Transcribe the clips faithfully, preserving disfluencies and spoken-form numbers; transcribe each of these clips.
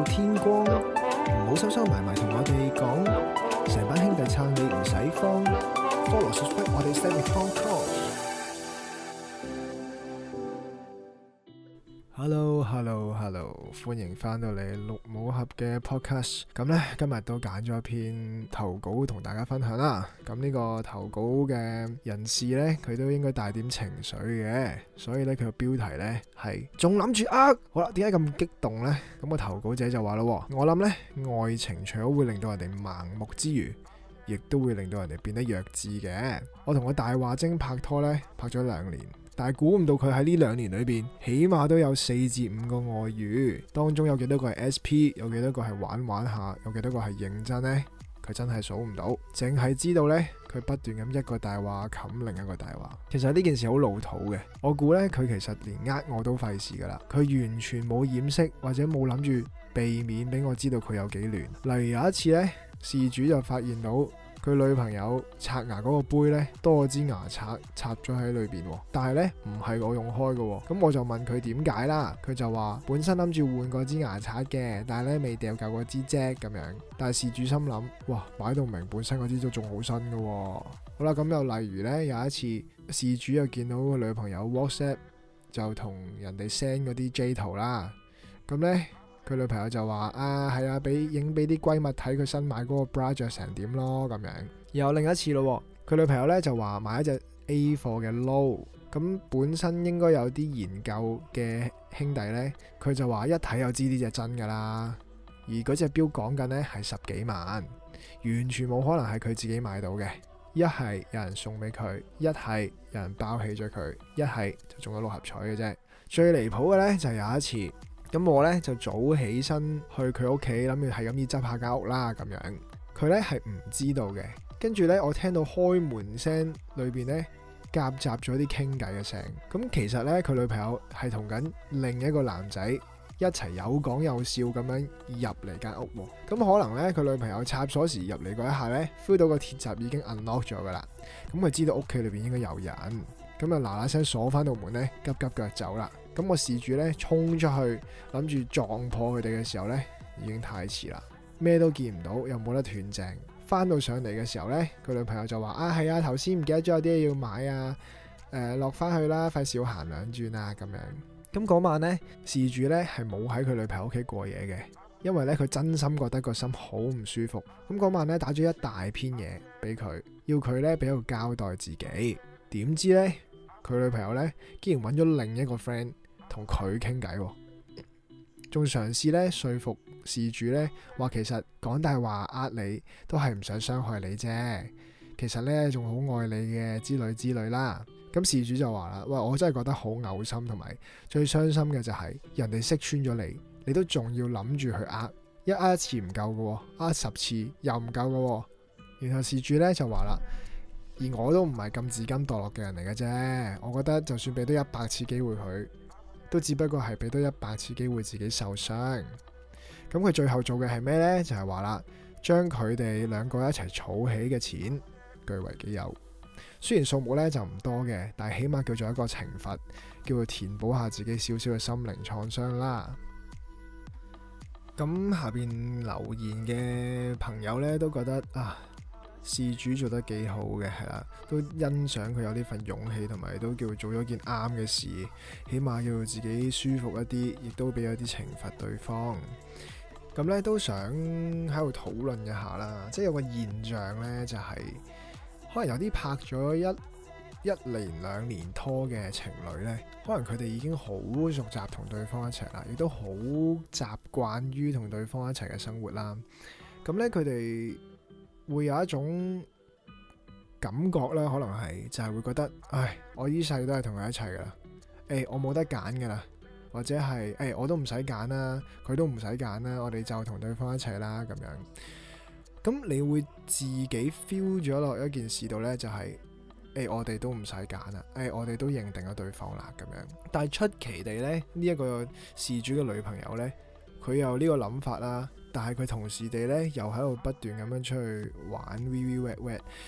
天光，唔好收收埋埋同我哋講，成班兄弟撐你唔使慌 ，follow subscribe 我哋 Step with Tom Talk。Hello，Hello，Hello， 歡迎翻到嚟綠帽俠嘅 podcast。咁呢，今日都揀咗一篇投稿同大家分享啦。咁呢個投稿嘅人士呢，佢都應該帶點情緒嘅，所以呢，佢個標題呢係仲諗住呃。好啦，點解咁激動呢？咁個投稿者就話咯，我諗呢，愛情除咗會令到人哋盲目之餘，亦都會令到人哋變得弱智嘅。我同個大話精拍拖呢，拍咗兩年。但係估唔到佢喺呢兩年裏邊，起碼都有四至五個外遇，當中有幾多個係 S P， 有幾多個係玩玩下，有幾多個係認真呢？佢真係數唔到，淨係知道呢，佢不斷咁一個大話冚另一個大話。其實呢件事好老土嘅，我估呢，佢其實連呃我都費事噶啦，佢完全冇掩飾或者冇諗住避免俾我知道佢有幾亂。例如有一次呢，事主就發現到佢女朋友刷牙嗰個杯呢，多咗支牙刷插咗喺裏邊，但係呢，唔係我用開嘅，咁我就問佢點解啦，佢就話本身諗住換嗰支牙刷嘅，但係呢未掉夠嗰支啫咁樣。但係事主心諗，哇，擺到明本身嗰支都仲好新嘅。好啦，咁又例如呢，有一次事主又見到個女朋友 WhatsApp 就同人哋 send 嗰啲 J 圖啦，咁呢，佢女朋友就話啊，係啊，俾影俾啲閨蜜睇佢新買嗰個 bra 着成點咯咁樣。然後另一次咯，佢女朋友咧就話買一隻 A 貨嘅褸，咁本身應該有啲研究嘅兄弟咧，佢就話一睇就知呢隻真噶啦。而嗰隻錶講緊咧係十幾萬，完全冇可能係佢自己買到嘅。一係有人送俾佢，一係有人包起咗佢，一係就中咗六合彩嘅啫。最離譜嘅咧就係有一次。咁我咧就早起身去佢屋企，諗住係咁要執下間屋啦咁樣。佢咧係唔知道嘅，跟住咧我聽到開門聲裏邊咧夾雜咗啲傾偈嘅聲。咁其實咧佢女朋友係同緊另一個男仔一齊有講有笑咁樣入嚟間屋。咁可能咧佢女朋友插鎖匙入嚟嗰一下咧 feel 到個鐵閘已經 unlock 咗噶啦。咁佢知道屋企裏邊應該有人，咁啊嗱嗱聲鎖翻道門咧，急急腳走啦。咁個事主咧衝出去諗住撞破佢哋嘅時候咧，已經太遲啦，咩都見唔到，又冇得斷正。翻到上嚟嘅時候咧，佢女朋友就話啊，係啊，頭先唔記得咗有啲嘢要買啊，誒落翻去啦，費事要行兩轉啊咁樣。咁嗰晚咧，事主咧係冇喺佢女朋友屋企過夜嘅，因為咧佢真心覺得個心好唔舒服。咁嗰晚咧打咗一大篇嘢俾佢，要佢咧俾個交代自己。點知咧佢女朋友咧竟然揾咗另一個 friend。同佢傾偈，仲嘗試咧說服事主咧話其實講大話呃你都係唔想傷害你啫，其實咧仲好愛你嘅之類之類啦。咁事主就話啦，喂，我真係覺得好嘔心，同埋最傷心嘅就係人哋識穿咗你，你都仲要諗住去呃，一呃一次唔夠嘅，呃十次又唔夠嘅。然後事主咧就話啦，而我都唔係咁自甘墮落嘅人嚟嘅啫，我覺得就算俾多一百次機會佢，都只不過係俾多一百次機會自己受傷。咁佢最後做嘅係咩呢？就係話啦，將佢哋兩個一齊儲起嘅錢據為己有。雖然數目咧就唔多嘅，但係起碼叫做一個懲罰，叫做填補下自己少少嘅心靈創傷啦。咁下邊留言嘅朋友咧都覺得啊，事主做得幾好嘅，係啦，都欣賞佢有呢份勇氣，同埋都叫做做咗件啱嘅事，起碼叫自己舒服一啲，亦都俾咗啲懲罰對方。咁咧都想喺度討論一下啦，即係有個現象咧，就係、是、可能有啲拍咗一一年兩年拖嘅情侶咧，可能佢哋已經好熟習同對方一齊啦，亦都好習慣於同對方一齊嘅生活啦。咁咧佢哋會有一種感覺啦，可能係就係、是、會覺得，唉，我呢世都係同佢一齊噶啦，誒、欸，我冇得揀噶啦，或者係誒、欸，我都唔使揀啦，佢都唔使揀啦，我哋就同對方一齊啦咁樣。咁你會自己 feel 咗落一件事度呢，就係、是、誒、欸，我哋都唔使揀啦，誒、欸，我哋都認定咗對方啦咁樣。但係出奇地呢，呢、這、一個事主嘅女朋友呢，佢有呢個諗法啦。但係佢同時地咧，又喺度不斷咁樣出去玩 V V wet wet，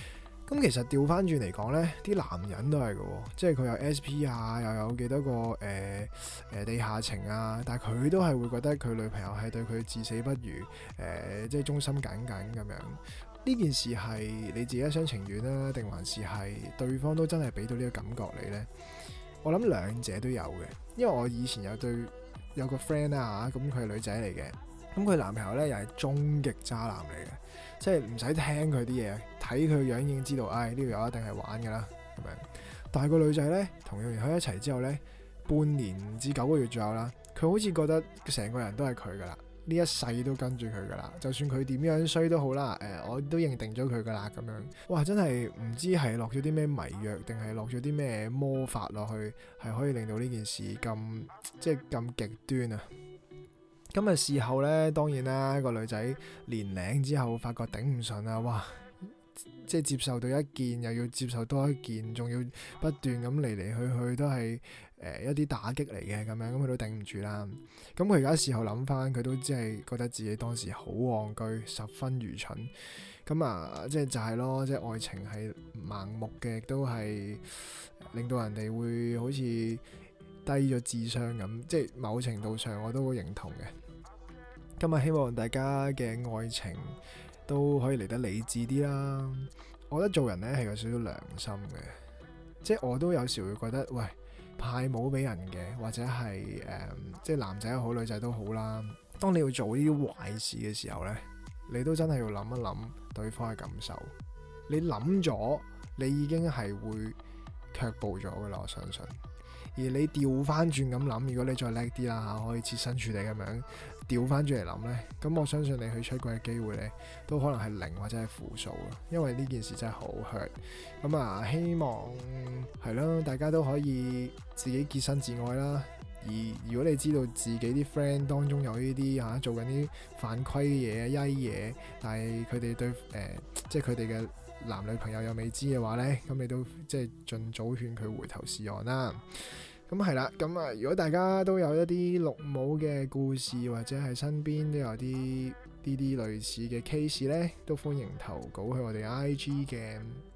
咁其實調翻轉嚟講呢，啲男人都係嘅喎，即係佢有 S P 啊，又有幾多個誒誒、呃呃、地下情啊，但係佢都係會覺得佢女朋友係對佢至死不渝，誒、呃、即係忠心耿耿咁樣。呢件事係你自己一廂情願啦，定還是係對方都真係俾到呢個感覺你呢？我諗兩者都有嘅，因為我以前有對有個 friend 啊嚇，咁佢係女仔嚟嘅，咁佢男朋友呢又係終極渣男嚟嘅。即係唔使聽佢啲嘢，睇佢樣已經知道，唉，呢條友一定係玩㗎啦咁樣。但係個女仔呢，同佢喺一齊之後呢，半年至九個月左右啦，佢好似覺得成個人都係佢㗎啦，呢一世都跟住佢㗎啦。就算佢點樣衰都好啦，誒、呃，我都認定咗佢㗎啦咁樣。哇！真係唔知係落咗啲咩迷藥，定係落咗啲咩魔法落去，係可以令到呢件事咁即係咁極端啊！咁啊事後咧，當然啦，個女仔年零之後發覺頂唔順啊，哇！即係接受到一件，又要接受多一件，仲要不斷咁嚟嚟去去都係誒、呃、一啲打擊嚟嘅咁樣，咁佢都頂唔住啦。咁佢而家事後諗翻，佢都只係覺得自己當時好戇居，十分愚蠢。咁啊，即係就係咯，即係愛情係盲目嘅，亦都係令到人哋會好似低咗智商咁，即係某程度上我都好認同嘅。今日希望大家嘅愛情都可以嚟得理智啲啦。我覺得做人呢係有少少良心嘅，即係我都有時會覺得，喂，派帽俾人嘅，或者係誒、呃，即係男仔好女仔都好啦。當你要做呢啲壞事嘅時候呢，你都真係要諗一諗對方嘅感受。你諗咗，你已經係會卻步咗噶啦，我相信。而你調翻轉咁諗，如果你再叻啲啦嚇，可以設身處地咁樣調翻轉嚟諗呢，咁我相信你去出軌嘅機會呢，都可能係零或者係負數咯。因為呢件事真係好 hurt。咁啊，希望係咯，大家都可以自己潔身自愛啦。而如果你知道自己啲 friend 當中有呢啲嚇做緊啲犯規嘅嘢、曳嘢，但係佢哋對誒、呃，即係佢哋嘅男女朋友又未知嘅話呢，咁你都即係盡早勸佢回頭是岸啦。咁係啦，咁啊，如果大家都有一啲綠帽嘅故事，或者係身邊都有啲呢啲類似嘅 case 呢，都歡迎投稿去我哋 I G 嘅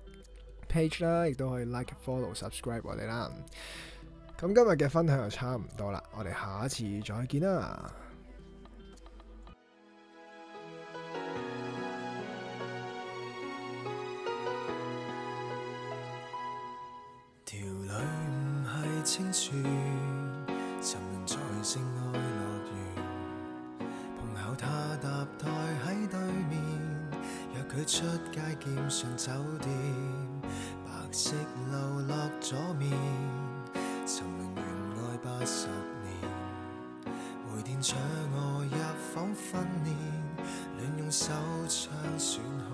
page 啦，亦都可以 like、follow、subscribe 我哋啦。咁今日嘅分享就差唔多啦，我哋下一次再見啦。 條女唔係清泉，沉淪在性愛樂園，碰巧他搭台喺對面，約佢出街兼上酒店，白色流落左面，沉淪緣愛八十年，回電搶我入房訓練，亂用手槍損